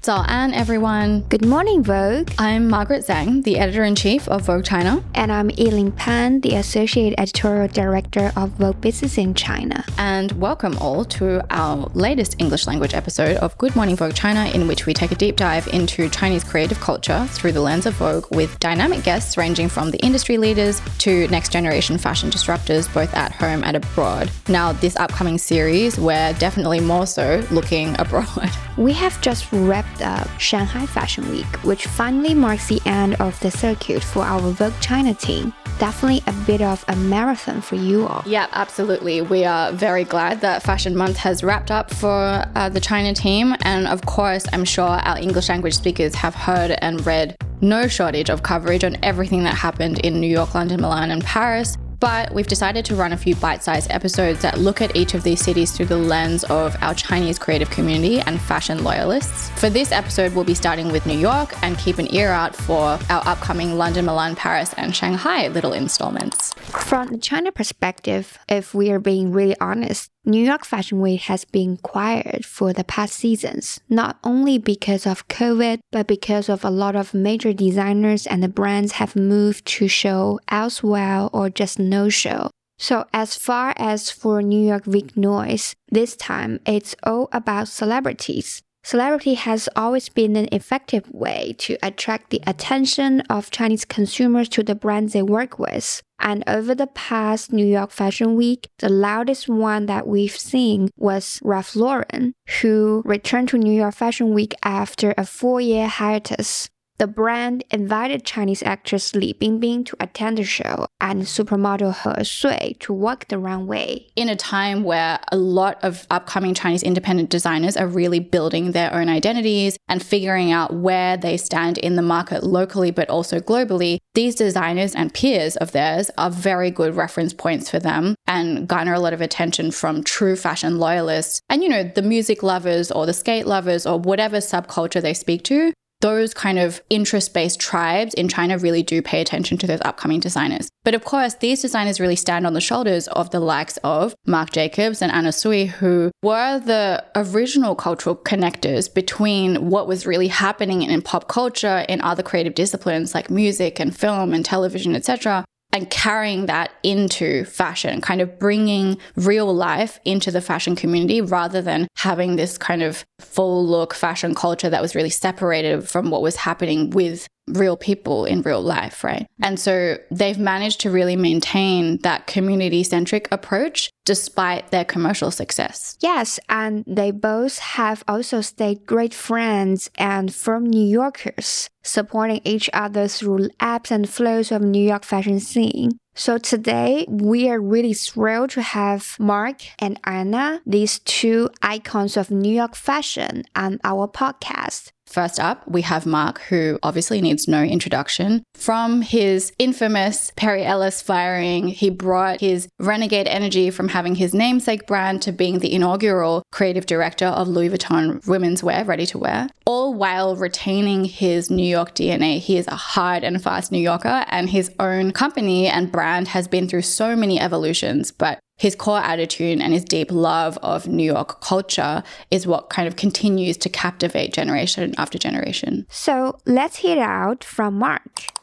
早安, everyone. Good morning, Vogue. I'm Margaret Zhang, the editor-in-chief of Vogue China. And I'm Yiling Pan, the associate editorial director of Vogue Business in China. And welcome all to our latest English language episode of Good Morning Vogue China, in which we take a deep dive into Chinese creative culture through the lens of Vogue with dynamic guests ranging from the industry leaders to next-generation fashion disruptors, both at home and abroad. Now, this upcoming series, we're definitely more so looking abroad. We have just wrapped up Shanghai Fashion Week, which finally marks the end of the circuit for our Vogue China team. Definitely a bit of a marathon for you all. Yeah, absolutely. We are very glad that Fashion Month has wrapped up for the China team. And of course, I'm sure our English language speakers have heard and read no shortage of coverage on everything that happened in New York, London, Milan, and Paris. But we've decided to run a few bite-sized episodes that look at each of these cities through the lens of our Chinese creative community and fashion loyalists. For this episode, we'll be starting with New York and keep an ear out for our upcoming London, Milan, Paris, and Shanghai little installments. From the China perspective, if we are being really honest, New York Fashion Week has been quiet for the past seasons, not only because of COVID, but because of a lot of major designers and the brands have moved to show elsewhere or just no show. So as far as for New York Week noise, this time it's all about celebrities. Celebrity has always been an effective way to attract the attention of Chinese consumers to the brands they work with. And over the past New York Fashion Week, the loudest one that we've seen was Ralph Lauren, who returned to New York Fashion Week after a 4-year hiatus. The brand invited Chinese actress Li Bingbing to attend the show and supermodel He Sui to walk the runway. In a time where a lot of upcoming Chinese independent designers are really building their own identities and figuring out where they stand in the market locally but also globally, these designers and peers of theirs are very good reference points for them and garner a lot of attention from true fashion loyalists and, the music lovers or the skate lovers or whatever subculture they speak to. Those kind of interest-based tribes in China really do pay attention to those upcoming designers. But of course, these designers really stand on the shoulders of the likes of Marc Jacobs and Anna Sui, who were the original cultural connectors between what was really happening in pop culture in other creative disciplines like music and film and television, etc., and carrying that into fashion, kind of bringing real life into the fashion community rather than having this kind of full look fashion culture that was really separated from what was happening with real people in real life, right? And so they've managed to really maintain that community-centric approach despite their commercial success. Yes, and they both have also stayed great friends and firm New Yorkers, supporting each other through ebbs and flows of New York fashion scene. So today, we are really thrilled to have Marc and Anna, these two icons of New York fashion, on our podcast. First up, we have Marc, who obviously needs no introduction. From his infamous Perry Ellis firing, he brought his renegade energy from having his namesake brand to being the inaugural creative director of Louis Vuitton women's wear, ready-to-wear, all while retaining his New York DNA. He is a hard and fast New Yorker, and his own company and brand has been through so many evolutions, but his core attitude and his deep love of New York culture is what kind of continues to captivate generation after generation. So let's hear it out from Marc.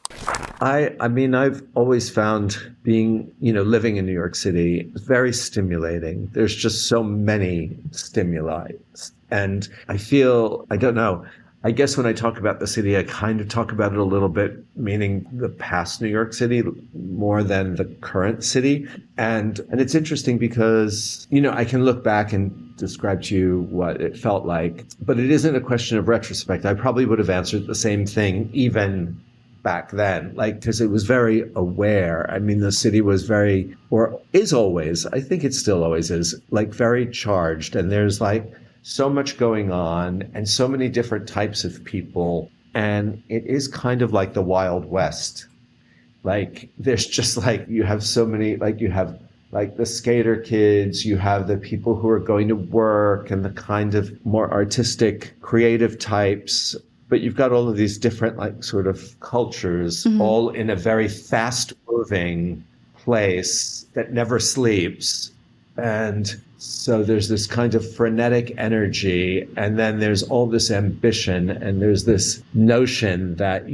I mean, I've always found being, living in New York City very stimulating. There's just so many stimuli. And I don't know, I guess when I talk about the city, I kind of talk about it a little bit, meaning the past New York City more than the current city. And it's interesting because, I can look back and describe to you what it felt like, but it isn't a question of retrospect. I probably would have answered the same thing even back then, because it was very aware. I mean, the city was very, or is always, I think it still always is, very charged. And there's so much going on and so many different types of people. And it is kind of like the Wild West. There's just you have so many, you have the skater kids, you have the people who are going to work and the kind of more artistic, creative types. But you've got all of these different sort of cultures, all in a very fast moving place that never sleeps. And so there's this kind of frenetic energy, and then there's all this ambition, and there's this notion that,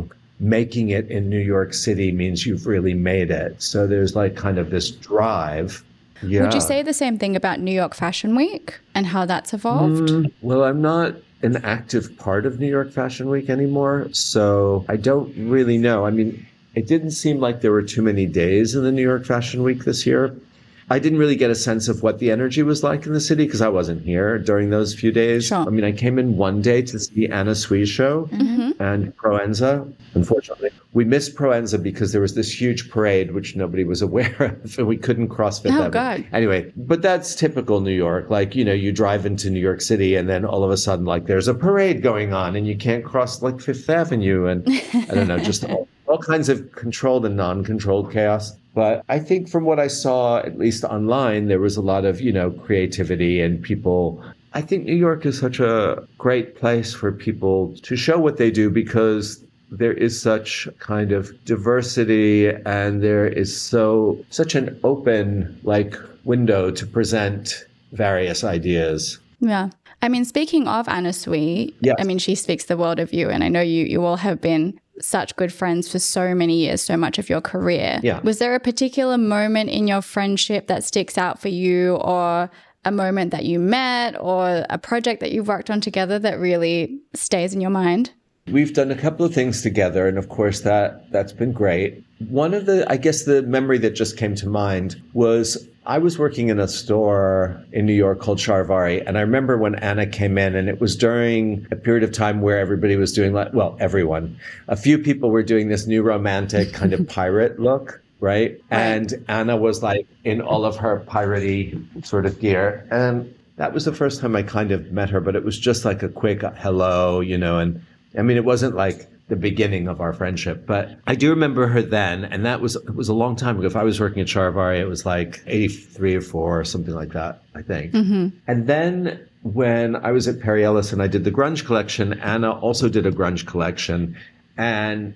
making it in New York City means you've really made it. So there's like kind of this drive. Yeah. Would you say the same thing about New York Fashion Week and how that's evolved? Well, I'm not an active part of New York Fashion Week anymore, so I don't really know. I mean, it didn't seem like there were too many days in the New York Fashion Week this year. I didn't really get a sense of what the energy was like in the city because I wasn't here during those few days. Sure. I mean, I came in one day to see Anna Sui's show and Proenza. Unfortunately, we missed Proenza because there was this huge parade, which nobody was aware of, and we couldn't cross Fifth Avenue. God. Anyway, but that's typical New York. Like, you drive into New York City and then all of a sudden, like, there's a parade going on and you can't cross, like, Fifth Avenue. And I don't know, just all kinds of controlled and non-controlled chaos. But I think from what I saw, at least online, there was a lot of, creativity and people. I think New York is such a great place for people to show what they do because there is such kind of diversity and there is such an open window to present various ideas. Yeah. I mean, speaking of Anna Sui, yes. I mean, she speaks the world of you. And I know you all have been such good friends for so many years, so much of your career. Yeah. Was there a particular moment in your friendship that sticks out for you, or a moment that you met, or a project that you've worked on together that really stays in your mind? We've done a couple of things together, and of course that's been great. One of the memory that just came to mind was I was working in a store in New York called Charivari, and I remember when Anna came in, and it was during a period of time where everybody was doing everyone. A few people were doing this new romantic kind of pirate look, right? And Anna was like in all of her piratey sort of gear. And that was the first time I kind of met her, but it was just like a quick hello, and I mean, it wasn't like the beginning of our friendship, but I do remember her then. And it was a long time ago. If I was working at Charivari, it was like 83 or 4 or something like that, I think. Mm-hmm. And then when I was at Perry Ellis and I did the grunge collection, Anna also did a grunge collection. And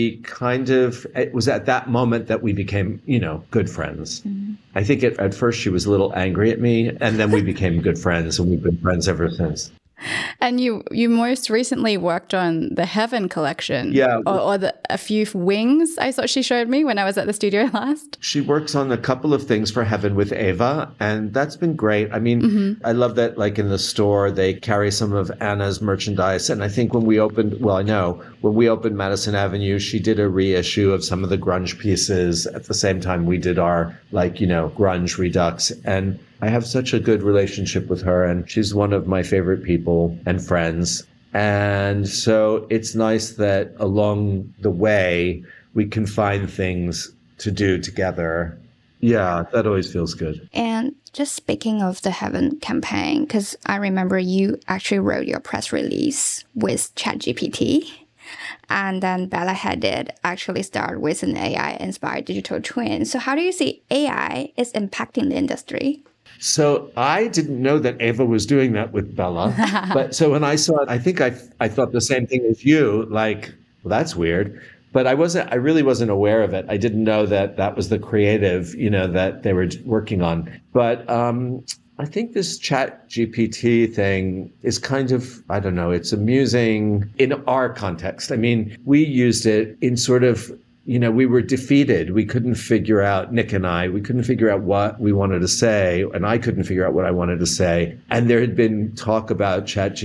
it was at that moment that we became, good friends. Mm-hmm. I think at first she was a little angry at me, and then we became good friends, and we've been friends ever since. And you most recently worked on the Heaven collection. Yeah. Or a few wings I thought she showed me when I was at the studio last. She works on a couple of things for Heaven with Ava, and that's been great. I mean, I love that in the store, they carry some of Anna's merchandise. And I think when we opened Madison Avenue, she did a reissue of some of the grunge pieces at the same time we did our grunge redux. And I have such a good relationship with her, and she's one of my favorite people and friends. And so it's nice that along the way, we can find things to do together. Yeah, that always feels good. And just speaking of the Heaven campaign, because I remember you actually wrote your press release with ChatGPT. And then Bella Hadid actually started with an AI-inspired digital twin. So how do you see AI is impacting the industry? So I didn't know that Ava was doing that with Bella. But so when I saw it, I think I thought the same thing as you, well, that's weird. But I really wasn't aware of it. I didn't know that was the creative, that they were working on. But I think this ChatGPT thing is kind of, I don't know, it's amusing in our context. I mean, we used it in sort of, we were defeated. We couldn't figure out, Nick and I, we couldn't figure out what we wanted to say, and I couldn't figure out what I wanted to say. And there had been talk about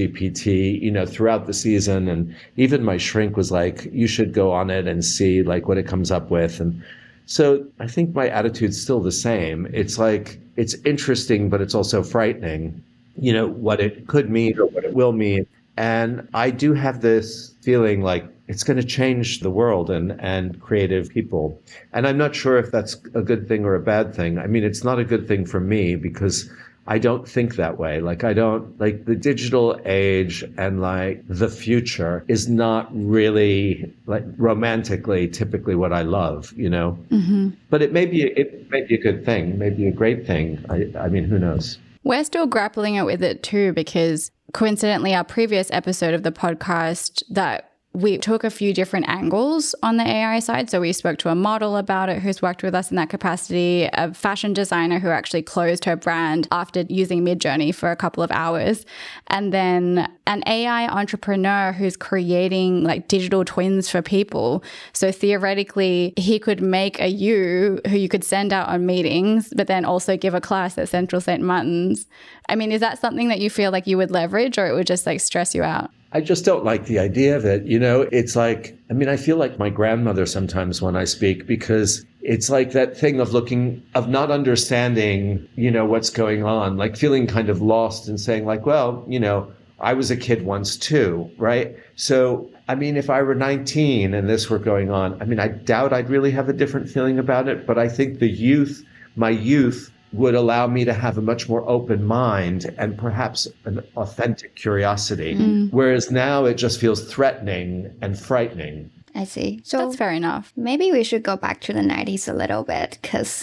ChatGPT, throughout the season. And even my shrink was like, you should go on it and see what it comes up with. And so I think my attitude's still the same. It's it's interesting, but it's also frightening, what it could mean or what it will mean. And I do have this feeling it's going to change the world and creative people. And I'm not sure if that's a good thing or a bad thing. I mean, it's not a good thing for me because I don't think that way. I don't the digital age and the future is not really romantically typically what I love, Mm-hmm. But it may be a good thing, maybe a great thing. I mean, who knows? We're still grappling with it too, because coincidentally, our previous episode of the podcast that we took a few different angles on the AI side. So we spoke to a model about it who's worked with us in that capacity, a fashion designer who actually closed her brand after using Midjourney for a couple of hours, and then an AI entrepreneur who's creating like digital twins for people. So theoretically, he could make a you who you could send out on meetings, but then also give a class at Central St. Martin's. I mean, is that something that you feel like you would leverage, or it would just like stress you out? I just don't like the idea of it. It's like, I mean, I feel like my grandmother sometimes when I speak, because it's like that thing of not understanding, what's going on, like feeling kind of lost and saying like, well, I was a kid once too, right? So, I mean, if I were 19 and this were going on, I mean, I doubt I'd really have a different feeling about it. But I think my youth would allow me to have a much more open mind and perhaps an authentic curiosity. Whereas now it just feels threatening and frightening. I see. So that's fair enough. Maybe we should go back to the 90s a little bit, because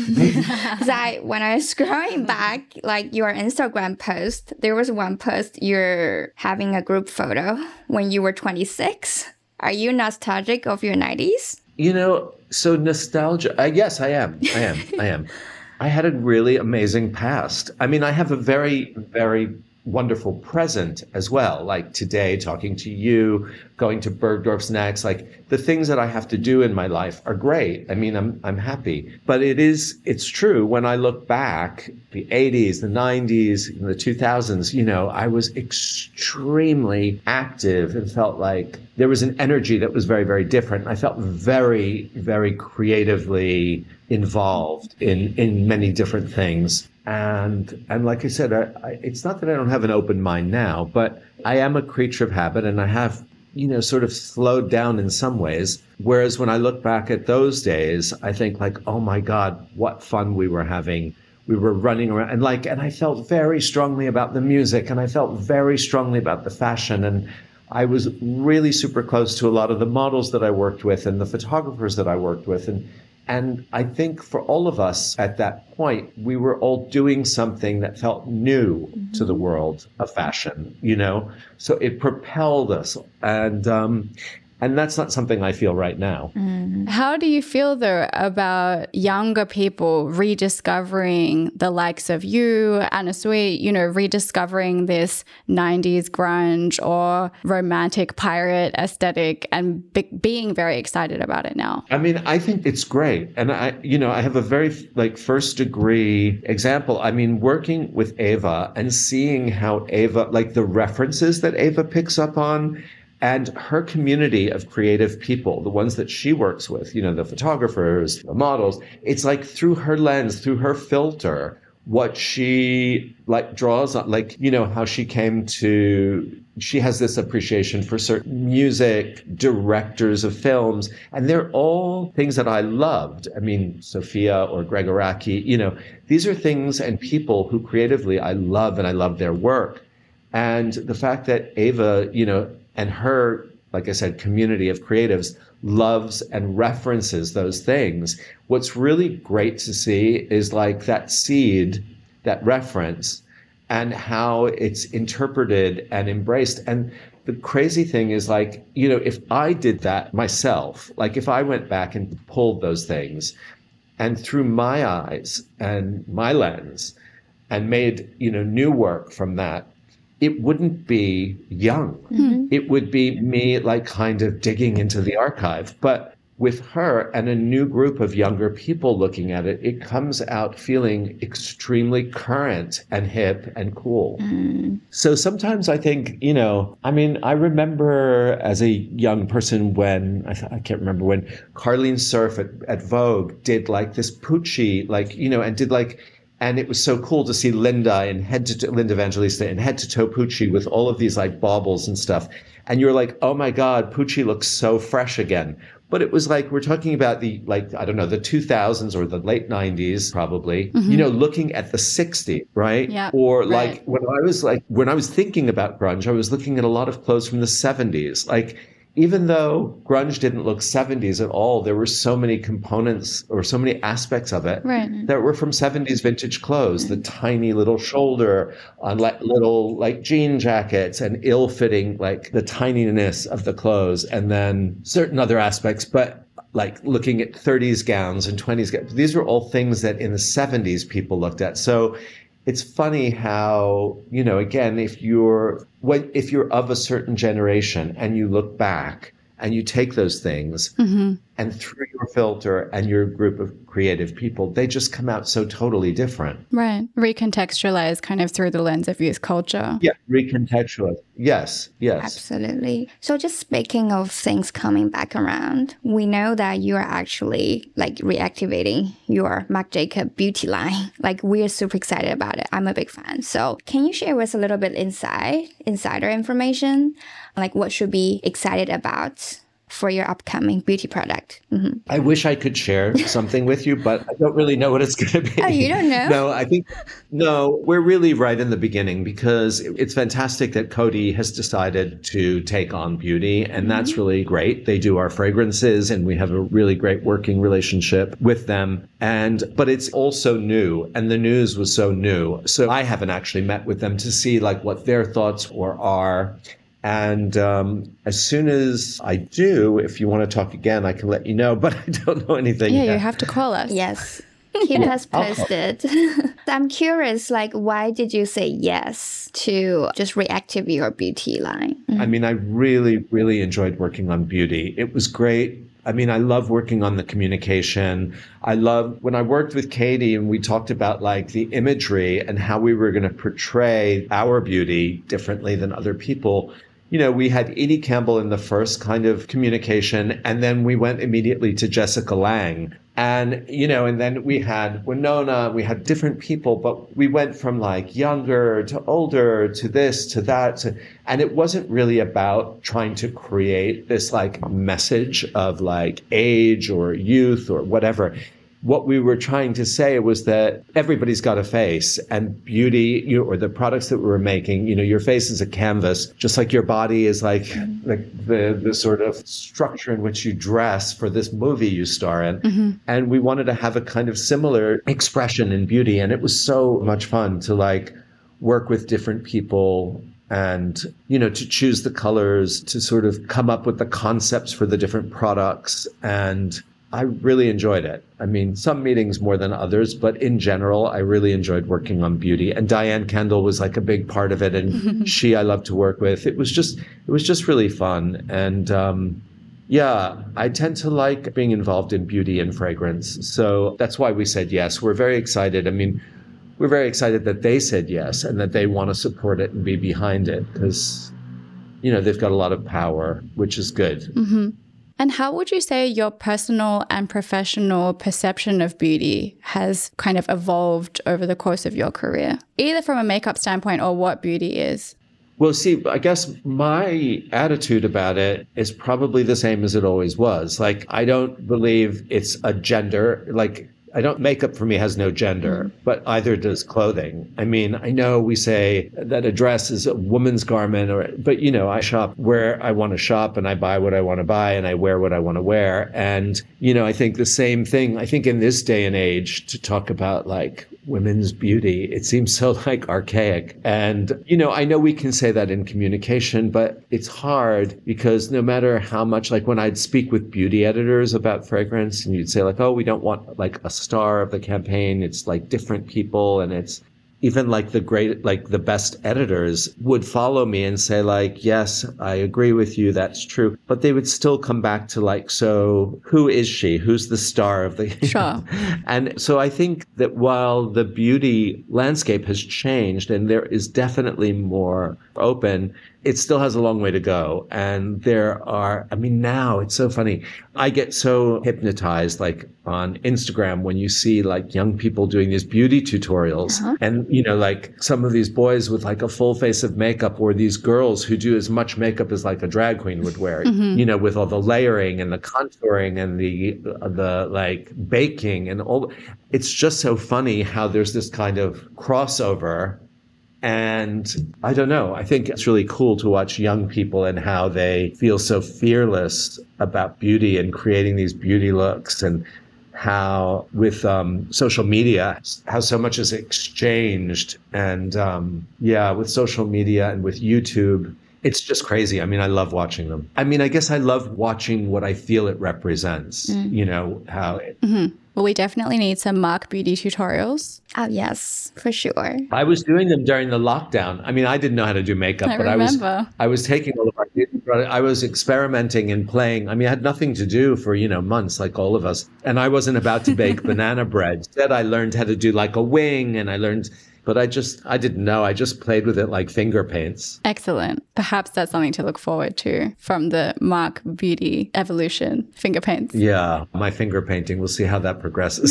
when I was scrolling back, like your Instagram post, there was one post you're having a group photo when you were 26. Are you nostalgic of your 90s? So nostalgia. Yes, I am. I am. I had a really amazing past. I mean, I have a very, very wonderful present as well. Like today, talking to you, going to Bergdorf's next, like the things that I have to do in my life are great. I mean, I'm happy. But it's true. When I look back, the 80s, the 90s, the 2000s, I was extremely active and felt like there was an energy that was very, very different. I felt very, very creatively involved in many different things. And like I said, it's not that I don't have an open mind now, but I am a creature of habit, and I have, sort of slowed down in some ways. Whereas when I look back at those days, I think like, oh my God, what fun we were having. We were running around and I felt very strongly about the music, and I felt very strongly about the fashion. And I was really super close to a lot of the models that I worked with and the photographers that I worked with. And I think for all of us at that point, we were all doing something that felt new to the world of fashion, So it propelled us. And that's not something I feel right now. How do you feel, though, about younger people rediscovering the likes of you, Anna Sui, rediscovering this 90s grunge or romantic pirate aesthetic and being very excited about it now? I mean, I think it's great. And I have a very first degree example. I mean, working with Ava and seeing how Ava, like the references that Ava picks up on, and her community of creative people, the ones that she works with, the photographers, the models, it's like through her lens, through her filter, what she draws on, how she has this appreciation for certain music, directors of films, and they're all things that I loved. I mean, Sophia or Greg Araki, these are things and people who creatively I love, and I love their work. And the fact that Ava, and her, like I said, community of creatives loves and references those things. What's really great to see is that seed, that reference, and how it's interpreted and embraced. And the crazy thing is if I did that myself, if I went back and pulled those things and through my eyes and my lens and made, new work from that, it wouldn't be young. It would be me kind of digging into the archive. But with her and a new group of younger people looking at it, it comes out feeling extremely current and hip and cool. So sometimes I think, I remember as a young person when, I can't remember when, Carlene Surf at Vogue did this Pucci, and did and it was so cool to see Linda Evangelista in head to toe Pucci with all of these baubles and stuff. And you're like, oh my God, Pucci looks so fresh again. But it was we're talking about the, I don't know, the 2000s or the late 90s, probably, looking at the 60s, right? Yeah, or right. when I was thinking about grunge, I was looking at a lot of clothes from the 70s. even though grunge didn't look 70s at all, there were so many components or so many aspects of it that were from 70s vintage clothes. The tiny little shoulder on little like jean jackets and ill-fitting, like the tininess of the clothes, and then certain other aspects. But like looking at 30s gowns and 20s gowns, these were all things that in the 70s people looked at. So it's funny how, again, if you're of a certain generation and you look back and you take those things and through your filter and your group of creative people, they just come out so totally different. Right. Recontextualize kind of through the lens of youth culture. Yeah, recontextualize. Yes. Absolutely. So just speaking of things coming back around, we know that you are actually like reactivating your Marc Jacob beauty line. Like we're super excited about it. I'm a big fan. So can you share with us a little bit insider information? Like what should be excited about for your upcoming beauty product? I wish I could share something with you, but I don't really know what it's going to be. Oh, you don't know? No, we're really right in the beginning because it's fantastic that Coty has decided to take on beauty, and that's really great. They do our fragrances and we have a really great working relationship with them. But it's also new, and the news was so new. So I haven't actually met with them to see like what their thoughts are. And as soon as I do, if you want to talk again, I can let you know, but I don't know anything yet. You have to call us. Yes. Keep us posted. I'm curious, like, why did you say yes to just reactivate your beauty line? I mean, I really, really enjoyed working on beauty. It was great. I mean, I love working on the communication. I love when I worked with Katie and we talked about like the imagery and how we were going to portray our beauty differently than other people. We had Edie Campbell in the first kind of communication, and then we went immediately to Jessica Lange. And, and then we had Winona, we had different people, but we went from like younger to older to this to that. And it wasn't really about trying to create this like message of like age or youth or whatever. What we were trying to say was that everybody's got a face, and beauty, or the products that we were making, your face is a canvas, just like your body is like the sort of structure in which you dress for this movie you star in. And we wanted to have a kind of similar expression in beauty. And it was so much fun to like work with different people and, to choose the colors, to sort of come up with the concepts for the different products. And I really enjoyed it. I mean, some meetings more than others, but in general, I really enjoyed working on beauty. And Diane Kendall was like a big part of it. And I love to work with. It was just really fun. And I tend to like being involved in beauty and fragrance. So that's why we said yes. We're very excited. I mean, we're very excited that they said yes and that they want to support it and be behind it because, they've got a lot of power, which is good. And how would you say your personal and professional perception of beauty has kind of evolved over the course of your career, either from a makeup standpoint or what beauty is? Well, see, I guess my attitude about it is probably the same as it always was. Like, I don't believe it's a gender, makeup for me has no gender, but either does clothing. I mean, I know we say that a dress is a woman's garment, but I shop where I want to shop and I buy what I want to buy and I wear what I want to wear. And, I think the same thing, I think in this day and age to talk about like women's beauty, it seems so like archaic. And, I know we can say that in communication, but it's hard because no matter how much, like when I'd speak with beauty editors about fragrance and you'd say like, oh, we don't want like a star of the campaign. It's like different people. And it's even like the best editors would follow me and say like, yes, I agree with you. That's true. But they would still come back to like, so who is she? Who's the star of the? Sure. And so I think that while the beauty landscape has changed and there is definitely more open, it still has a long way to go. And now it's so funny. I get so hypnotized like on Instagram when you see like young people doing these beauty tutorials and, like some of these boys with like a full face of makeup or these girls who do as much makeup as like a drag queen would wear, with all the layering and the contouring and the like baking and all. It's just so funny how there's this kind of crossover And I don't know, I think it's really cool to watch young people and how they feel so fearless about beauty and creating these beauty looks, and how with social media, how so much is exchanged. And with social media and with YouTube, it's just crazy. I mean, I love watching them. I mean, I guess I love watching what I feel it represents, you know, how it... Well, we definitely need some Mark beauty tutorials. Oh, yes, for sure. I was doing them during the lockdown. I mean, I didn't know how to do makeup, but I was taking all of our beauty products. I was experimenting and playing. I mean, I had nothing to do for, months like all of us. And I wasn't about to bake banana bread. Instead, I learned how to do like a wing, and but I didn't know. I just played with it like finger paints. Excellent. Perhaps that's something to look forward to from the Mark Beauty evolution, finger paints. Yeah, my finger painting. We'll see how that progresses.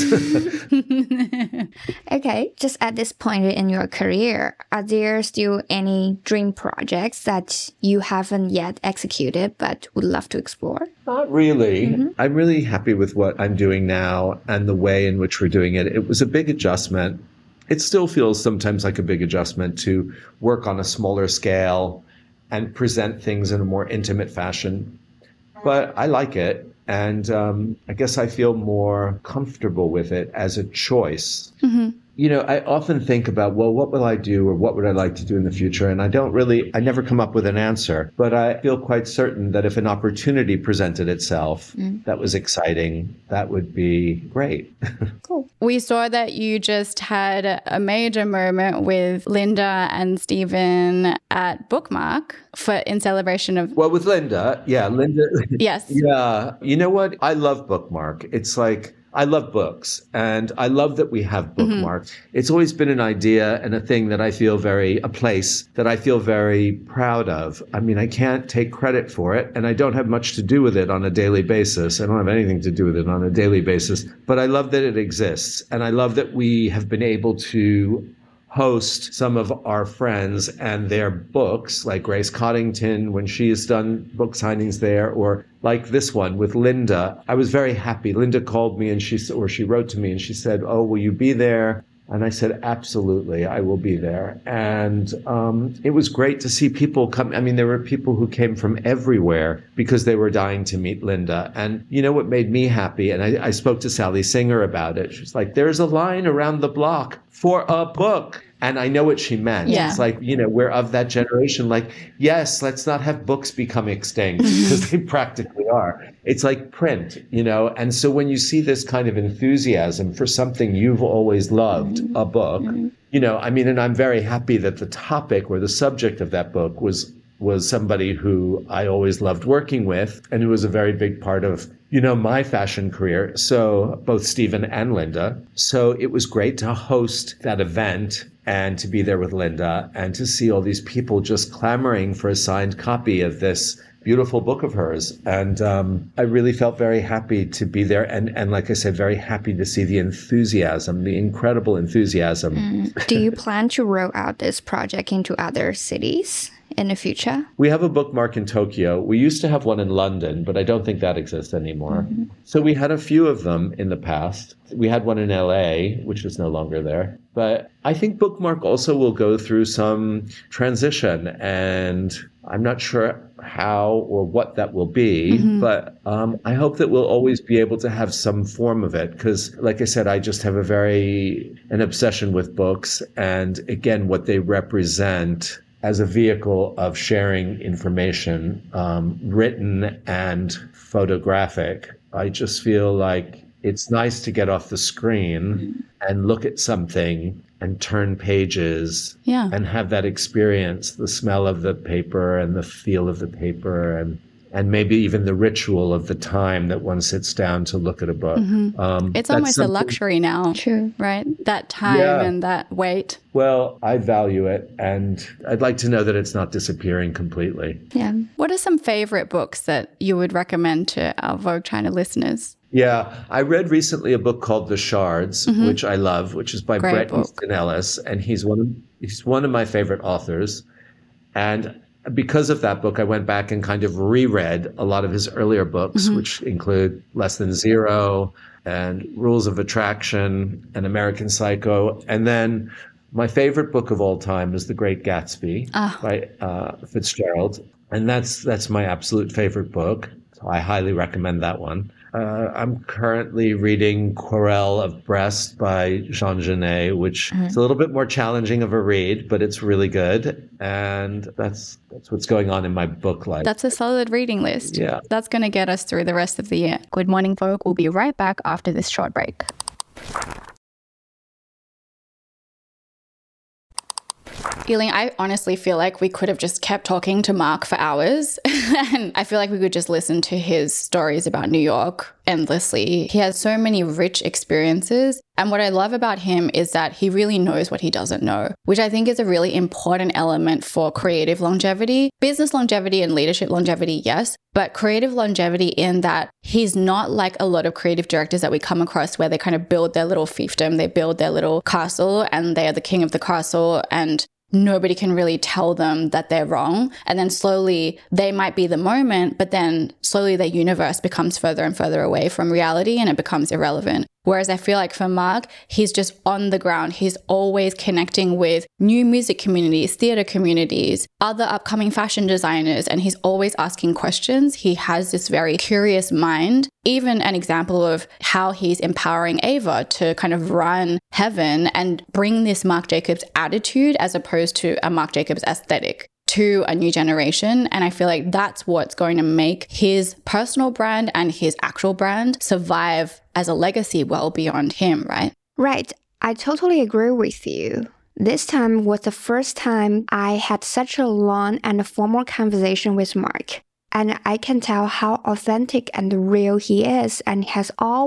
Okay, just at this point in your career, are there still any dream projects that you haven't yet executed but would love to explore? Not really. I'm really happy with what I'm doing now and the way in which we're doing it. It was a big adjustment. It still feels sometimes like a big adjustment to work on a smaller scale and present things in a more intimate fashion. But I like it. And I guess I feel more comfortable with it as a choice. I often think about, well, what will I do, or what would I like to do in the future? And I never come up with an answer, but I feel quite certain that if an opportunity presented itself that was exciting, that would be great. Cool. We saw that you just had a major moment with Linda and Stephen at Bookmark in celebration of... Well, with Linda. Yes. Yeah. You know what? I love Bookmark. It's like, I love books, and I love that we have Bookmark. It's always been an idea and a thing that a place that I feel very proud of. I mean, I can't take credit for it, and I don't have much to do with it on a daily basis. I don't have anything to do with it on a daily basis, but I love that it exists. And I love that we have been able to host some of our friends and their books, like Grace Coddington when she has done book signings there, or like this one with Linda. I was very happy. Linda called me and she wrote to me and she said, "Oh, will you be there?" And I said, "Absolutely, I will be there." And it was great to see people come. I mean, there were people who came from everywhere because they were dying to meet Linda. And you know what made me happy? And I spoke to Sally Singer about it. She's like, "There's a line around the block for a book." And I know what she meant. Yeah. It's like, we're of that generation. Like, yes, let's not have books become extinct, because they practically are. It's like print, And so when you see this kind of enthusiasm for something you've always loved, a book, and I'm very happy that the topic or the subject of that book was somebody who I always loved working with, and who was a very big part of, my fashion career. So both Stephen and Linda. So it was great to host that event and to be there with Linda and to see all these people just clamoring for a signed copy of this beautiful book of hers. And I really felt very happy to be there. And like I said, very happy to see the enthusiasm, the incredible enthusiasm. Do you plan to roll out this project into other cities in the future? We have a Bookmark in Tokyo. We used to have one in London, but I don't think that exists anymore. So we had a few of them in the past. We had one in LA, which is no longer there. But I think Bookmark also will go through some transition, and I'm not sure how or what that will be, but I hope that we'll always be able to have some form of it, because like I said, I just have an obsession with books, and again, what they represent as a vehicle of sharing information, written and photographic. I just feel like it's nice to get off the screen and look at something and turn pages and have that experience, the smell of the paper and the feel of the paper, and maybe even the ritual of the time that one sits down to look at a book. It's almost a luxury now, True. right? That time and that wait. Well, I value it, and I'd like to know that it's not disappearing completely. Yeah. What are some favorite books that you would recommend to our Vogue China listeners? Yeah, I read recently a book called The Shards, which I love, which is by Bret Easton Ellis, and he's one of my favorite authors. And because of that book, I went back and kind of reread a lot of his earlier books, which include Less Than Zero and Rules of Attraction and American Psycho. And then My favorite book of all time is The Great Gatsby by Fitzgerald. And that's my absolute favorite book. So I highly recommend that one. I'm currently reading Querelle of Brest by Jean Genet, which is a little bit more challenging of a read, but it's really good. And that's what's going on in my book life. That's a solid reading list. Yeah. That's going to get us through the rest of the year. Good morning, folk. We'll be right back after this short break. Feeling, I honestly feel like we could have just kept talking to Mark for hours. And I feel like we could just listen to his stories about New York endlessly. He has so many rich experiences. And what I love about him is that he really knows what he doesn't know, which I think is a really important element for creative longevity. Business longevity and leadership longevity, yes, but creative longevity in that he's not like a lot of creative directors that we come across where they kind of build their little fiefdom, they build their little castle and they are the king of the castle and nobody can really tell them that they're wrong. And then slowly they might be the moment, but then slowly their universe becomes further and further away from reality and it becomes irrelevant. Whereas I feel like for Mark, he's just on the ground. He's always connecting with new music communities, theater communities, other upcoming fashion designers, and he's always asking questions. He has this very curious mind. Even an example of how he's empowering Ava to kind of run Heaven and bring this Marc Jacobs attitude as opposed to a Marc Jacobs aesthetic to a new generation. And I feel like that's what's going to make his personal brand and his actual brand survive as a legacy well beyond him, right? Right. I totally agree with you. This time was the first time I had such a long and formal conversation with Mark. And I can tell how authentic and real he is. And he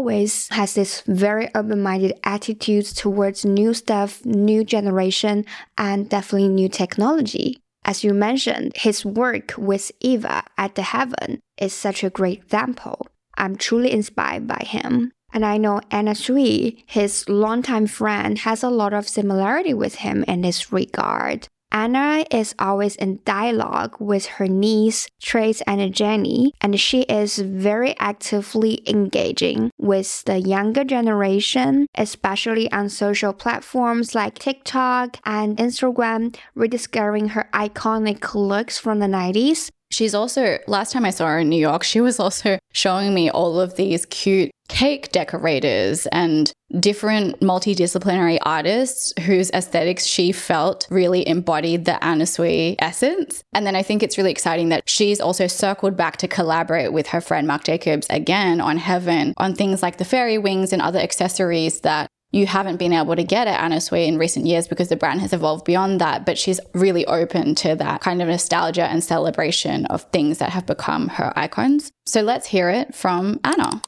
has this very open-minded attitude towards new stuff, new generation, and definitely new technology. As you mentioned, his work with Eva at the Heaven is such a great example. I'm truly inspired by him. And I know Anna Sui, his longtime friend, has a lot of similarity with him in this regard. Anna is always in dialogue with her niece, Trace and Jenny, and she is very actively engaging with the younger generation, especially on social platforms like TikTok and Instagram, rediscovering her iconic looks from the 90s. She's also, last time I saw her in New York, she was also showing me all of these cute cake decorators and different multidisciplinary artists whose aesthetics she felt really embodied the Anna Sui essence. And then I think it's really exciting that she's also circled back to collaborate with her friend Marc Jacobs again on Heaven, on things like the fairy wings and other accessories that you haven't been able to get at Anna Sui in recent years because the brand has evolved beyond that, but she's really open to that kind of nostalgia and celebration of things that have become her icons. So let's hear it from Anna.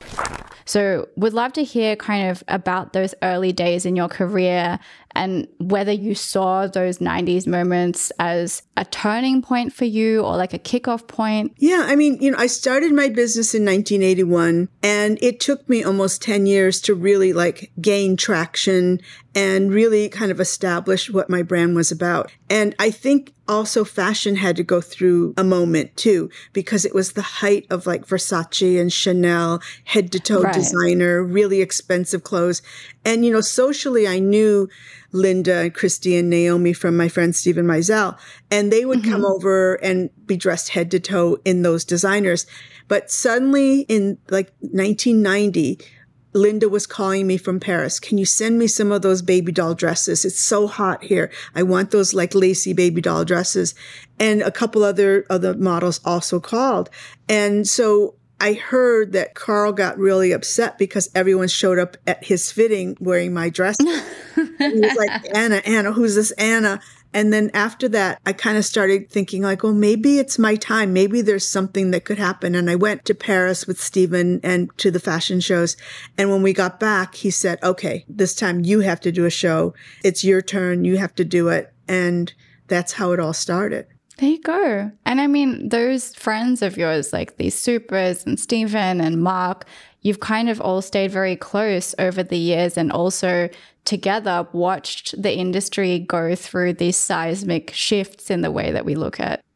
So would love to hear kind of about those early days in your career and whether you saw those 90s moments as a turning point for you or like a kickoff point. Yeah, I mean, I started my business in 1981 and it took me almost 10 years to really like gain traction and really kind of establish what my brand was about. And I think also fashion had to go through a moment too, because it was the height of like Versace and Chanel, head to toe designer, really expensive clothes. And, socially, I knew Linda and Christy and Naomi from my friend Stephen Meisel, and they would come over and be dressed head to toe in those designers. But suddenly in like 1990, Linda was calling me from Paris. Can you send me some of those baby doll dresses? It's so hot here. I want those like lacy baby doll dresses. And a couple other models also called. And so I heard that Carl got really upset because everyone showed up at his fitting wearing my dress. He was like, Anna, who's this Anna? And then after that, I kind of started thinking like, well, maybe it's my time. Maybe there's something that could happen. And I went to Paris with Stephen and to the fashion shows. And when we got back, he said, okay, this time you have to do a show. It's your turn. You have to do it. And that's how it all started. There you go. And I mean, those friends of yours, like these Supers and Stephen and Mark, you've kind of all stayed very close over the years and also together watched the industry go through these seismic shifts in the way that we look at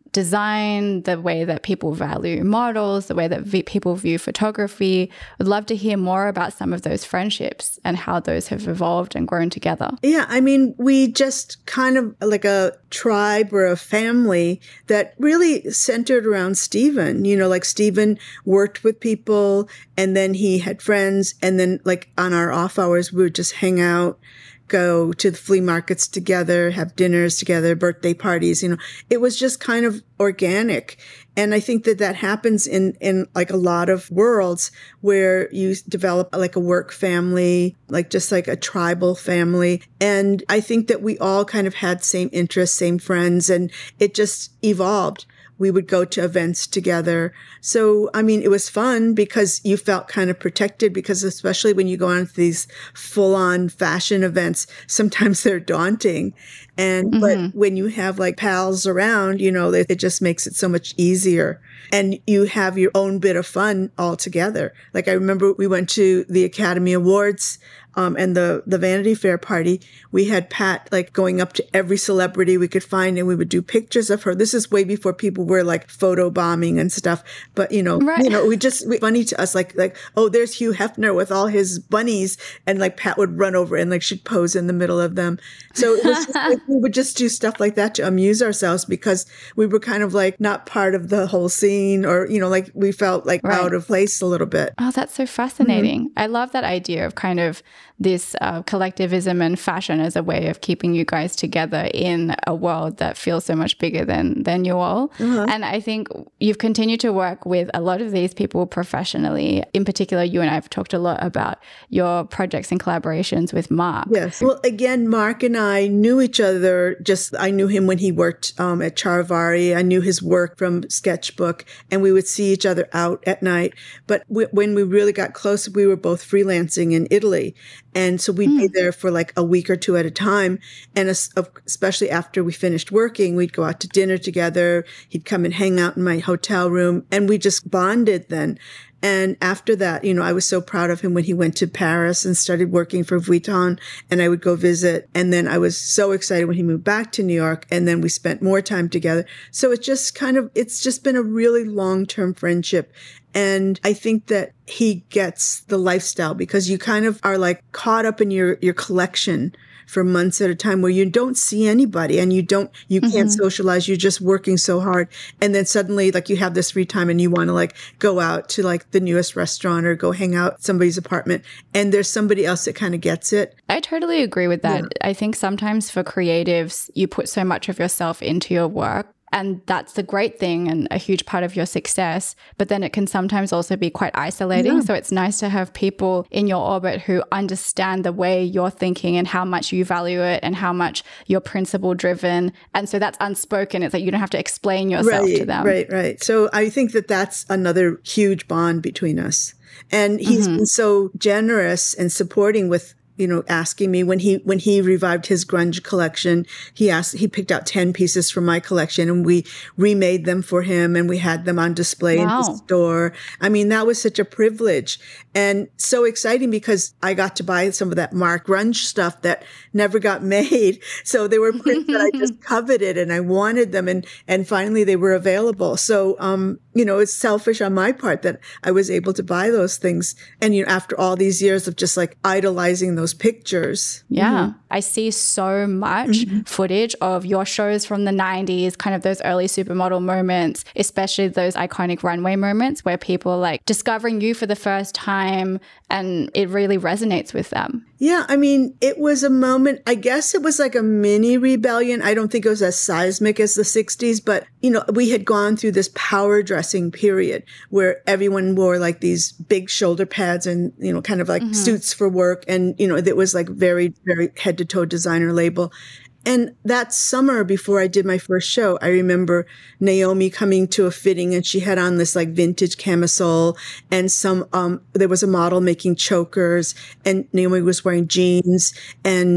design, the way that people value models, the way that people view photography. I'd love to hear more about some of those friendships and how those have evolved and grown together. Yeah, I mean, we just kind of like a tribe or a family that really centered around Stephen. You know, like Stephen worked with people and then he had friends. And then like on our off hours, we would just hang out, go to the flea markets together, have dinners together, birthday parties. You know, it was just kind of organic. And I think that that happens in like a lot of worlds where you develop like a work family, like just like a tribal family. And I think that we all kind of had same interests, same friends, and it just evolved. We would go to events together. So, I mean, it was fun because you felt kind of protected because especially when you go on to these full-on fashion events, sometimes they're daunting. And, but when you have like pals around, you know, it just makes it so much easier. And you have your own bit of fun all together. Like I remember we went to the Academy Awards and the Vanity Fair party. We had Pat like going up to every celebrity we could find and we would do pictures of her. This is way before people were like photo bombing and stuff. But funny to us, like, oh, there's Hugh Hefner with all his bunnies. And like Pat would run over and like she'd pose in the middle of them. So it was just, like, we would just do stuff like that to amuse ourselves because we were kind of like not part of the whole scene or, you know, like we felt like out of place a little bit. Oh, that's so fascinating. I love that idea of kind of this collectivism and fashion as a way of keeping you guys together in a world that feels so much bigger than you all. And I think you've continued to work with a lot of these people professionally. In particular, you and I have talked a lot about your projects and collaborations with Mark. Yes. Well, again, Mark and I knew each other. I knew him when he worked at Charivari. I knew his work from Sketchbook, and we would see each other out at night. But when we really got close, we were both freelancing in Italy. And so we'd be there for like a week or two at a time. And especially after we finished working, we'd go out to dinner together. He'd come and hang out in my hotel room and we just bonded then. And after that, you know, I was so proud of him when he went to Paris and started working for Vuitton and I would go visit. And then I was so excited when he moved back to New York and then we spent more time together. So it's just been a really long-term friendship. And I think that he gets the lifestyle because you kind of are like caught up in your collection for months at a time where you don't see anybody and you can't socialize. You're just working so hard. And then suddenly like you have this free time and you want to like go out to like the newest restaurant or go hang out at somebody's apartment. And there's somebody else that kind of gets it. I totally agree with that. Yeah. I think sometimes for creatives, you put so much of yourself into your work. And that's the great thing and a huge part of your success. But then it can sometimes also be quite isolating. Yeah. So it's nice to have people in your orbit who understand the way you're thinking and how much you value it and how much you're principle driven. And so that's unspoken. It's like you don't have to explain yourself to them. Right. So I think that that's another huge bond between us. And he's been so generous and supporting with, you know, asking me when he revived his grunge collection, he picked out 10 pieces from my collection and we remade them for him and we had them on display in his store. I mean, that was such a privilege and so exciting because I got to buy some of that Mark grunge stuff that never got made. So they were prints that I just coveted and I wanted them and finally they were available. So, you know, it's selfish on my part that I was able to buy those things. And, you know, after all these years of just like idolizing those pictures. Yeah. I see so much footage of your shows from the 90s, kind of those early supermodel moments, especially those iconic runway moments where people are like discovering you for the first time and it really resonates with them. Yeah. I mean, it was a moment, I guess it was like a mini rebellion. I don't think it was as seismic as the 60s, but, you know, we had gone through this power dressing period where everyone wore like these big shoulder pads and, you know, kind of like suits for work. And, you know, it was like very, very head to toe designer label. And that summer before I did my first show, I remember Naomi coming to a fitting and she had on this like vintage camisole and there was a model making chokers and Naomi was wearing jeans and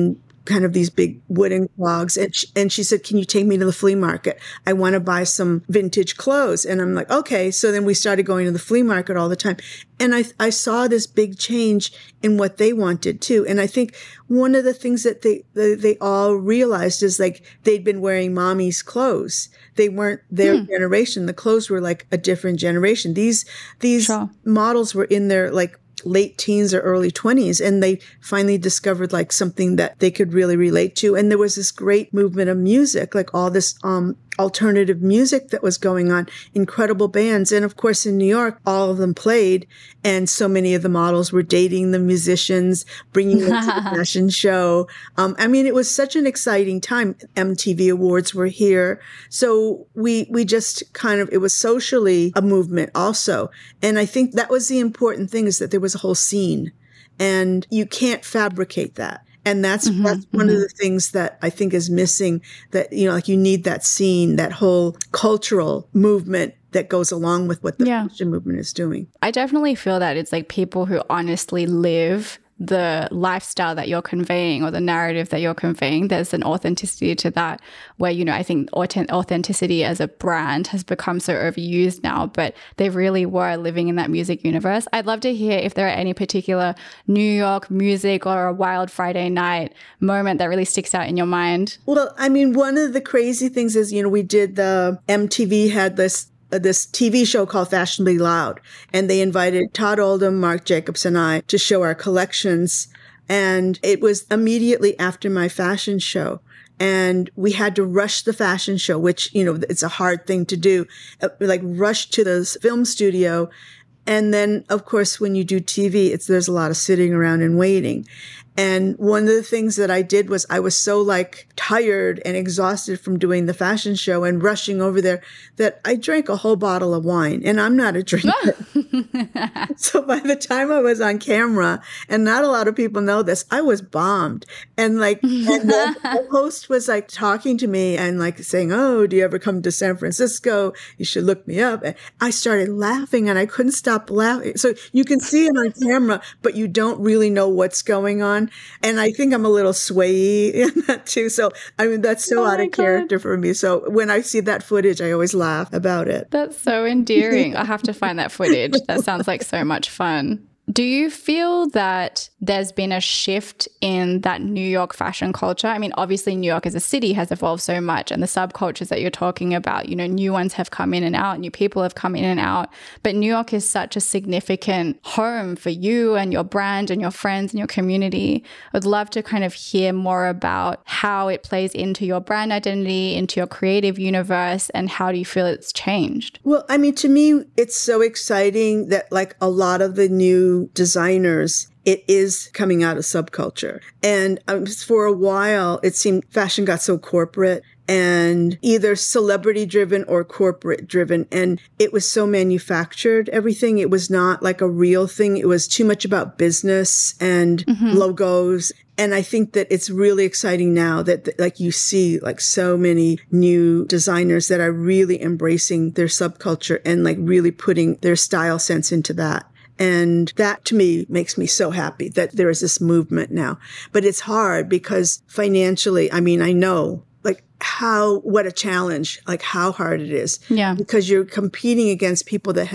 kind of these big wooden clogs. And she said, can you take me to the flea market? I want to buy some vintage clothes. And I'm like, okay. So then we started going to the flea market all the time. And I saw this big change in what they wanted too. And I think one of the things that they all realized is like they'd been wearing mommy's clothes. They weren't their generation. The clothes were like a different generation. These Sure. models were in their like late teens or early 20s, and they finally discovered like something that they could really relate to. And there was this great movement of music, like all this alternative music that was going on, incredible bands. And of course, in New York, all of them played. And so many of the models were dating the musicians, bringing them to the fashion show. I mean, it was such an exciting time. MTV Awards were here. So we just kind of, it was socially a movement also. And I think that was the important thing, is that there was a whole scene, and you can't fabricate that. And that's one of the things that I think is missing, that, you know, like you need that scene, that whole cultural movement that goes along with what the fashion movement is doing. I definitely feel that it's like people who honestly live the lifestyle that you're conveying, or the narrative that you're conveying. There's an authenticity to that where, you know, I think authenticity as a brand has become so overused now, but they really were living in that music universe. I'd love to hear if there are any particular New York music or a wild Friday night moment that really sticks out in your mind. Well, I mean, one of the crazy things is, you know, we did MTV had this TV show called Fashionably Loud, and they invited Todd Oldham, Marc Jacobs, and I to show our collections. And it was immediately after my fashion show. And we had to rush the fashion show, which, you know, it's a hard thing to do, like rush to the film studio. And then, of course, when you do TV, there's a lot of sitting around and waiting. And one of the things that I did was I was so like tired and exhausted from doing the fashion show and rushing over there that I drank a whole bottle of wine, and I'm not a drinker. So by the time I was on camera, and not a lot of people know this, I was bombed. And like, and the host was like talking to me and like saying, oh, do you ever come to San Francisco? You should look me up. And I started laughing and I couldn't stop laughing. So you can see it on camera, but you don't really know what's going on. And I think I'm a little swayy in that too. So, I mean, that's so out of character for me. So when I see that footage, I always laugh about it. That's so endearing. I have to find that footage. That sounds like so much fun. Do you feel that there's been a shift in that New York fashion culture? I mean, obviously New York as a city has evolved so much, and the subcultures that you're talking about, you know, new ones have come in and out, new people have come in and out. But New York is such a significant home for you and your brand and your friends and your community. I'd love to kind of hear more about how it plays into your brand identity, into your creative universe, and how do you feel it's changed? Well, I mean, to me, it's so exciting that like a lot of the new designers, it is coming out of subculture. And for a while, it seemed fashion got so corporate and either celebrity driven or corporate driven. And it was so manufactured, everything. It was not like a real thing. It was too much about business and logos. And I think that it's really exciting now that like you see like so many new designers that are really embracing their subculture and like really putting their style sense into that. And that to me makes me so happy that there is this movement now. But it's hard because financially, I mean, I know like what a challenge, like how hard it is. Yeah. Because you're competing against people that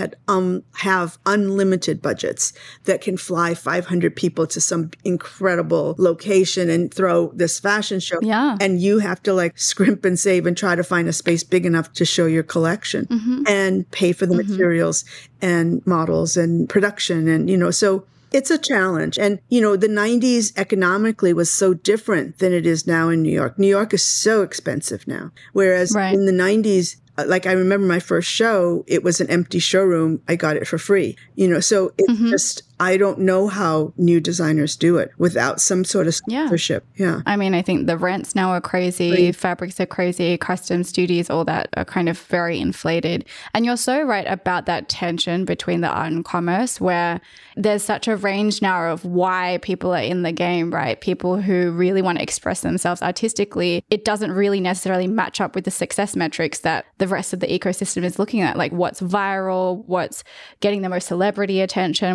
have unlimited budgets that can fly 500 people to some incredible location and throw this fashion show. Yeah. And you have to like scrimp and save and try to find a space big enough to show your collection and pay for the materials and models and production. And, you know, so it's a challenge. And, you know, the 90s economically was so different than it is now in New York. New York is so expensive now. Whereas in the 90s, like I remember my first show, it was an empty showroom. I got it for free, you know, so it's just, I don't know how new designers do it without some sort of sponsorship. Yeah. I mean, I think the rents now are crazy, fabrics are crazy, custom studios, all that are kind of very inflated. And you're so right about that tension between the art and commerce, where there's such a range now of why people are in the game, right? People who really want to express themselves artistically. It doesn't really necessarily match up with the success metrics that the rest of the ecosystem is looking at, like what's viral, what's getting the most celebrity attention, what's generating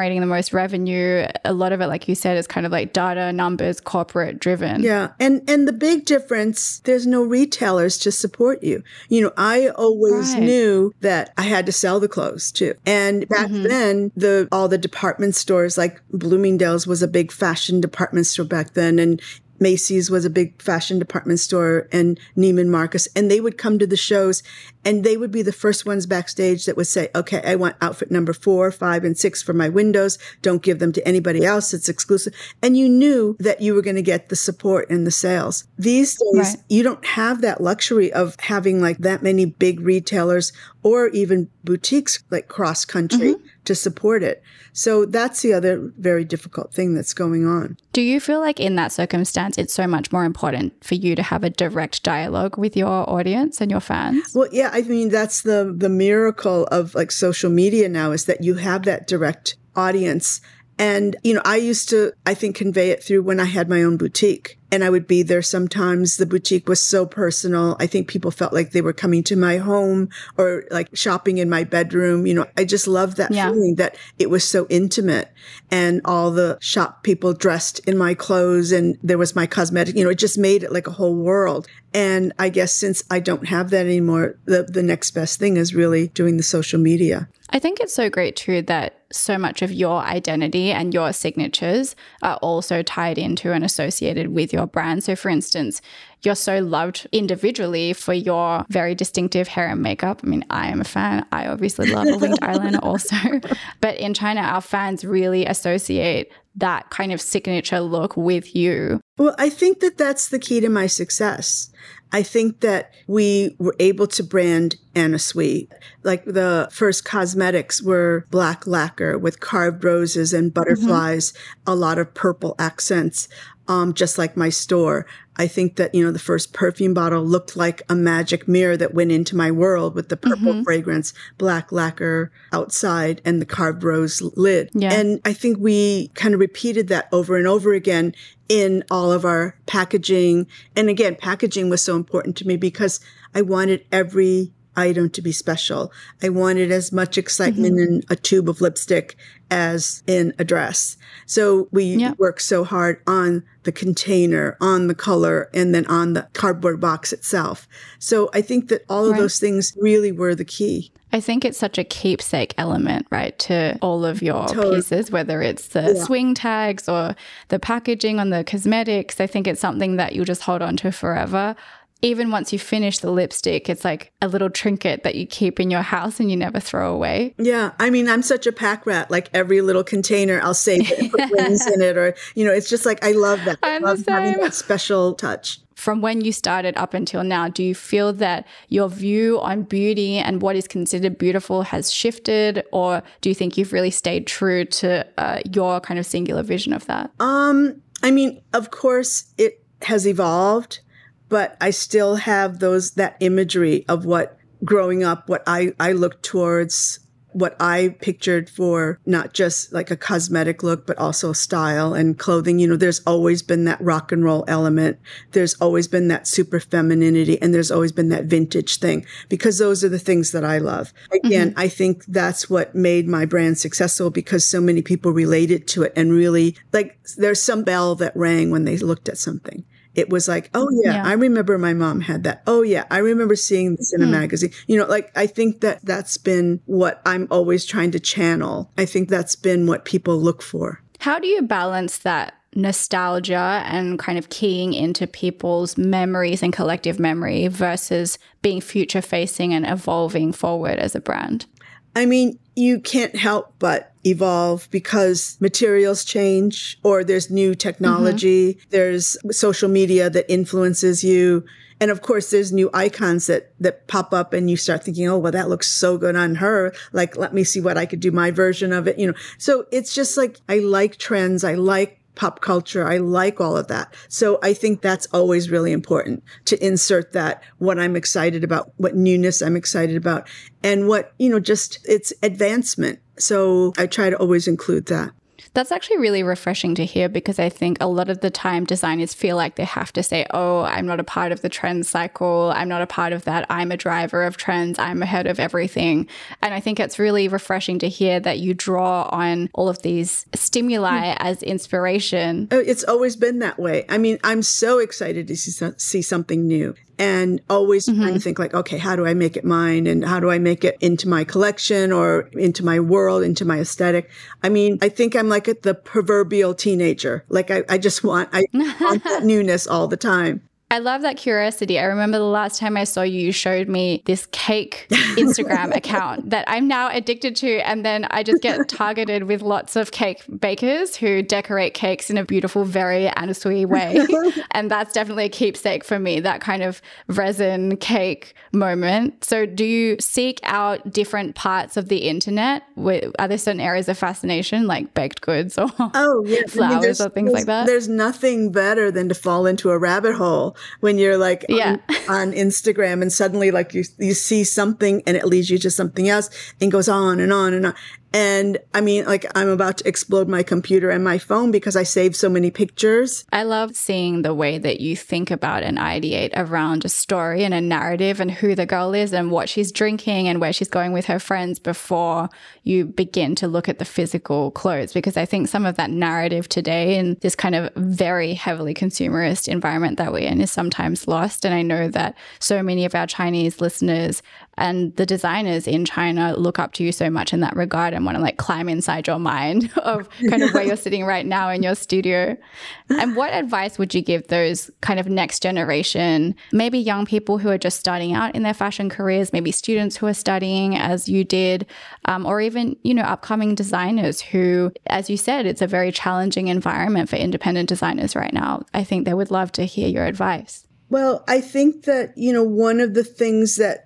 generating the most revenue. A lot of it, like you said, is kind of like data, numbers, corporate driven. Yeah. And the big difference, there's no retailers to support you. I always knew that I had to sell the clothes too. And back then, all the department stores, like Bloomingdale's was a big fashion department store back then. And Macy's was a big fashion department store, and Neiman Marcus, and they would come to the shows and they would be the first ones backstage that would say, okay, I want outfit number 4, 5, and 6 for my windows. Don't give them to anybody else. It's exclusive. And you knew that you were going to get the support and the sales. These days, you don't have that luxury of having like that many big retailers or even boutiques like cross country to support it. So that's the other very difficult thing that's going on. Do you feel like in that circumstance, it's so much more important for you to have a direct dialogue with your audience and your fans? Well, yeah, I mean, that's the miracle of like social media now, is that you have that direct audience. And, I used to, I think, convey it through when I had my own boutique. And I would be there sometimes. The boutique was so personal. I think people felt like they were coming to my home or like shopping in my bedroom. I just loved that feeling that it was so intimate, and all the shop people dressed in my clothes, and there was my cosmetic, it just made it like a whole world. And I guess since I don't have that anymore, the next best thing is really doing the social media. I think it's so great too that so much of your identity and your signatures are also tied into and associated with your brand. So for instance, you're so loved individually for your very distinctive hair and makeup. I mean, I am a fan. I obviously love a winged eyeliner also. But in China, our fans really associate that kind of signature look with you. Well, I think that that's the key to my success. I think that we were able to brand Anna Sui. Like the first cosmetics were black lacquer with carved roses and butterflies, a lot of purple accents, just like my store. I think that, the first perfume bottle looked like a magic mirror that went into my world with the purple fragrance, black lacquer outside, and the carved rose lid. Yeah. And I think we kind of repeated that over and over again in all of our packaging. And again, packaging was so important to me because I wanted every item to be special. I wanted as much excitement in a tube of lipstick as in a dress. So we worked so hard on the container, on the color, and then on the cardboard box itself. So I think that all of those things really were the key. I think it's such a keepsake element, right, to all of your pieces, whether it's the swing tags or the packaging on the cosmetics. I think it's something that you'll just hold on to forever. Even once you finish the lipstick, it's like a little trinket that you keep in your house and you never throw away. Yeah. I mean, I'm such a pack rat. Like every little container, I'll save it and put rings in it. Or, it's just like, I love that. I love having that special touch. From when you started up until now, do you feel that your view on beauty and what is considered beautiful has shifted? Or do you think you've really stayed true to your kind of singular vision of that? I mean, of course, it has evolved. But I still have that imagery of what growing up, what I looked towards, what I pictured for not just like a cosmetic look, but also style and clothing. There's always been that rock and roll element. There's always been that super femininity, and there's always been that vintage thing, because those are the things that I love. Again, I think that's what made my brand successful, because so many people related to it and really like there's some bell that rang when they looked at something. It was like, oh, yeah, I remember my mom had that. Oh, yeah, I remember seeing this in a magazine. I think that's been what I'm always trying to channel. I think that's been what people look for. How do you balance that nostalgia and kind of keying into people's memories and collective memory versus being future facing and evolving forward as a brand? I mean, you can't help but evolve because materials change, or there's new technology, there's social media that influences you. And of course, there's new icons that pop up and you start thinking, oh, well, that looks so good on her. Like, let me see what I could do my version of it. So it's just like, I like trends. I like pop culture. I like all of that. So I think that's always really important to insert that, what I'm excited about, what newness I'm excited about, and what, just it's advancement. So I try to always include that. That's actually really refreshing to hear, because I think a lot of the time designers feel like they have to say, oh, I'm not a part of the trend cycle. I'm not a part of that. I'm a driver of trends. I'm ahead of everything. And I think it's really refreshing to hear that you draw on all of these stimuli as inspiration. It's always been that way. I mean, I'm so excited to see something new. And always trying to think like, okay, how do I make it mine? And how do I make it into my collection or into my world, into my aesthetic? I mean, I think I'm like the proverbial teenager. Like I want that newness all the time. I love that curiosity. I remember the last time I saw you, you showed me this cake Instagram account that I'm now addicted to. And then I just get targeted with lots of cake bakers who decorate cakes in a beautiful, very Anna Sui way. And that's definitely a keepsake for me, that kind of resin cake moment. So do you seek out different parts of the internet? Are there certain areas of fascination like baked goods or flowers or things like that? There's nothing better than to fall into a rabbit hole when you're like on Instagram and suddenly like you see something and it leads you to something else and goes on and on and on. And I mean, like I'm about to explode my computer and my phone because I saved so many pictures. I love seeing the way that you think about and ideate around a story and a narrative and who the girl is and what she's drinking and where she's going with her friends before you begin to look at the physical clothes. Because I think some of that narrative today in this kind of very heavily consumerist environment that we're in is sometimes lost. And I know that so many of our Chinese listeners and the designers in China look up to you so much in that regard and want to like climb inside your mind of kind of where you're sitting right now in your studio. And what advice would you give those kind of next generation, maybe young people who are just starting out in their fashion careers, maybe students who are studying as you did, or even, you know, upcoming designers who, as you said, it's a very challenging environment for independent designers right now. I think they would love to hear your advice. Well, I think that, you know, one of the things that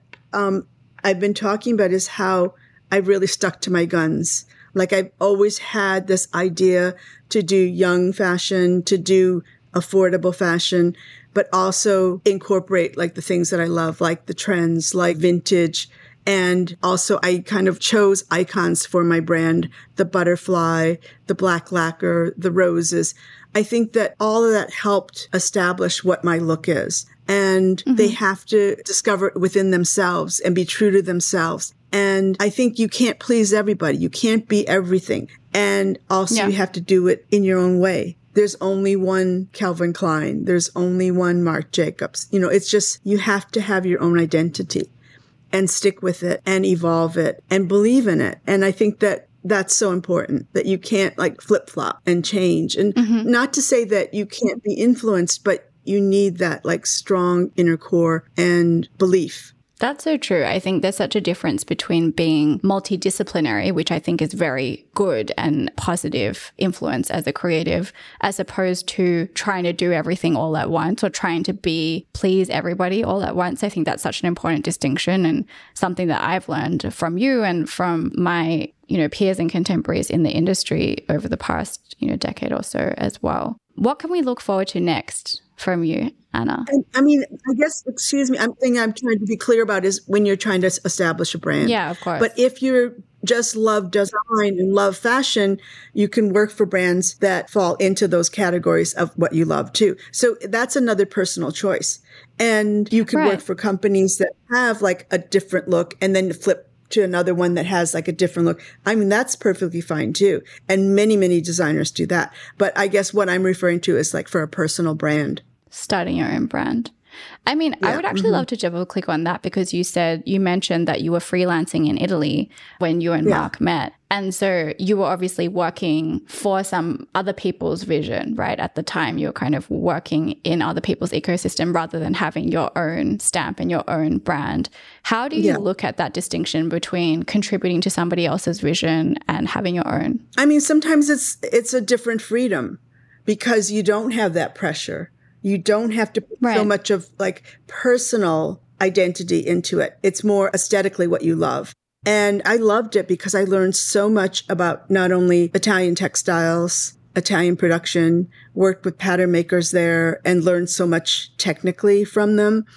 I've been talking about is how I've really stuck to my guns. Like I've always had this idea to do young fashion, to do affordable fashion, but also incorporate like the things that I love, like the trends, like vintage. And also I kind of chose icons for my brand, the butterfly, the black lacquer, the roses. I think that all of that helped establish what my look is. And they have to discover it within themselves and be true to themselves. And I think you can't please everybody. You can't be everything. And also you have to do it in your own way. There's only one Calvin Klein. There's only one Marc Jacobs. You know, it's just, you have to have your own identity and stick with it and evolve it and believe in it. And I think that that's so important, that you can't like flip-flop and change. And not to say that you can't be influenced, but you need that like strong inner core and belief. That's so true. I think there's such a difference between being multidisciplinary, which I think is very good and positive influence as a creative, as opposed to trying to do everything all at once or trying to please everybody all at once. I think that's such an important distinction and something that I've learned from you and from my, you know, peers and contemporaries in the industry over the past, you know, decade or so as well. What can we look forward to next from you, Anna? I mean, I guess, excuse me, thing I'm trying to be clear about is when you're trying to establish a brand. Yeah, of course. But if you just love design and love fashion, you can work for brands that fall into those categories of what you love too. So that's another personal choice. And you can work for companies that have like a different look and then flip to another one that has like a different look. I mean, that's perfectly fine too. And many, many designers do that. But I guess what I'm referring to is like for a personal brand. Starting your own brand. I mean, I would actually love to double click on that because you mentioned that you were freelancing in Italy when you and Marc met. And so you were obviously working for some other people's vision, right? At the time, you were kind of working in other people's ecosystem rather than having your own stamp and your own brand. How do you look at that distinction between contributing to somebody else's vision and having your own? I mean, sometimes it's a different freedom because you don't have that pressure. You don't have to put so much of like personal identity into it. It's more aesthetically what you love. And I loved it because I learned so much about not only Italian textiles, Italian production, worked with pattern makers there and learned so much technically from them.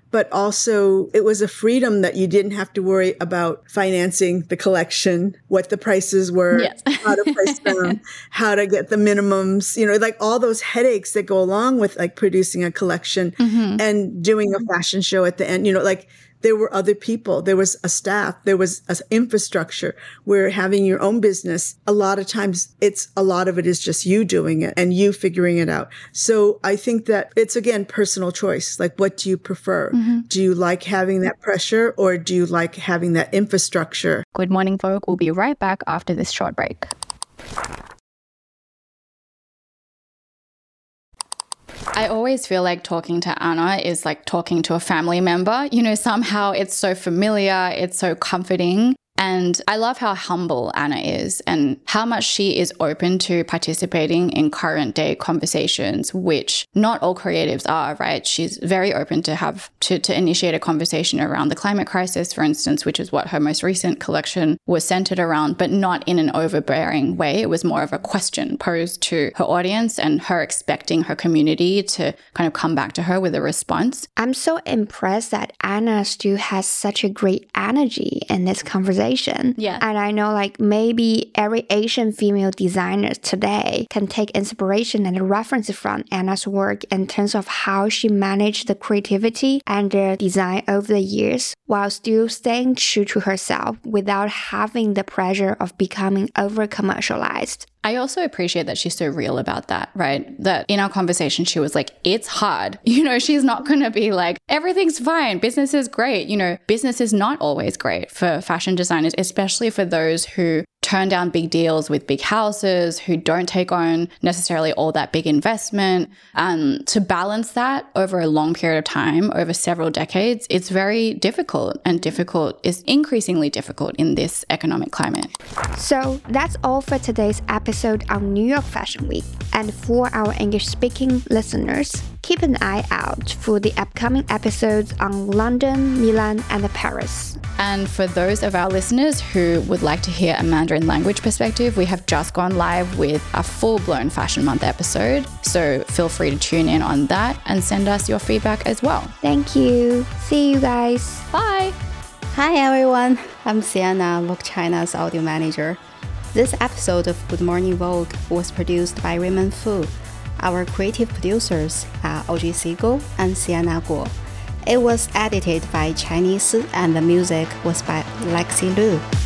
but also it was a freedom that you didn't have to worry about financing the collection, what the prices were, yes. how to price them, how to get the minimums, like all those headaches that go along with like producing a collection and doing a fashion show at the end, there were other people, there was a staff, there was an infrastructure. Where having your own business, a lot of times a lot of it is just you doing it and you figuring it out. So I think that it's, again, personal choice. Like, what do you prefer? Do you like having that pressure, or do you like having that infrastructure? Good morning, folk. We'll be right back after this short break. I always feel like talking to Anna is like talking to a family member. Somehow it's so familiar, it's so comforting. And I love how humble Anna is and how much she is open to participating in current day conversations, which not all creatives are, right? She's very open to initiate a conversation around the climate crisis, for instance, which is what her most recent collection was centered around, but not in an overbearing way. It was more of a question posed to her audience and her expecting her community to kind of come back to her with a response. I'm so impressed that Anna still has such a great energy in this conversation. Yeah. And I know like maybe every Asian female designer today can take inspiration and reference from Anna's work in terms of how she managed the creativity and the design over the years while still staying true to herself without having the pressure of becoming over-commercialized. I also appreciate that she's so real about that, right? That in our conversation, she was like, it's hard. She's not going to be like, everything's fine. Business is great. Business is not always great for fashion designers, especially for those who turn down big deals with big houses, who don't take on necessarily all that big investment. To balance that over a long period of time, over several decades, it's very difficult, and difficult is increasingly difficult in this economic climate. So that's all for today's episode on New York Fashion Week. And for our English-speaking listeners, keep an eye out for the upcoming episodes on London, Milan, and Paris. And for those of our listeners who would like to hear a Mandarin language perspective, we have just gone live with a full-blown Fashion Month episode. So feel free to tune in on that and send us your feedback as well. Thank you. See you guys. Bye. Hi everyone, I'm Sienna, Vogue China's audio manager. This episode of Good Morning Vogue was produced by Raymond Fu. Our creative producers are Audrey Siegel and Sienna Guo. It was edited by Chinese and the music was by Lexi Liu.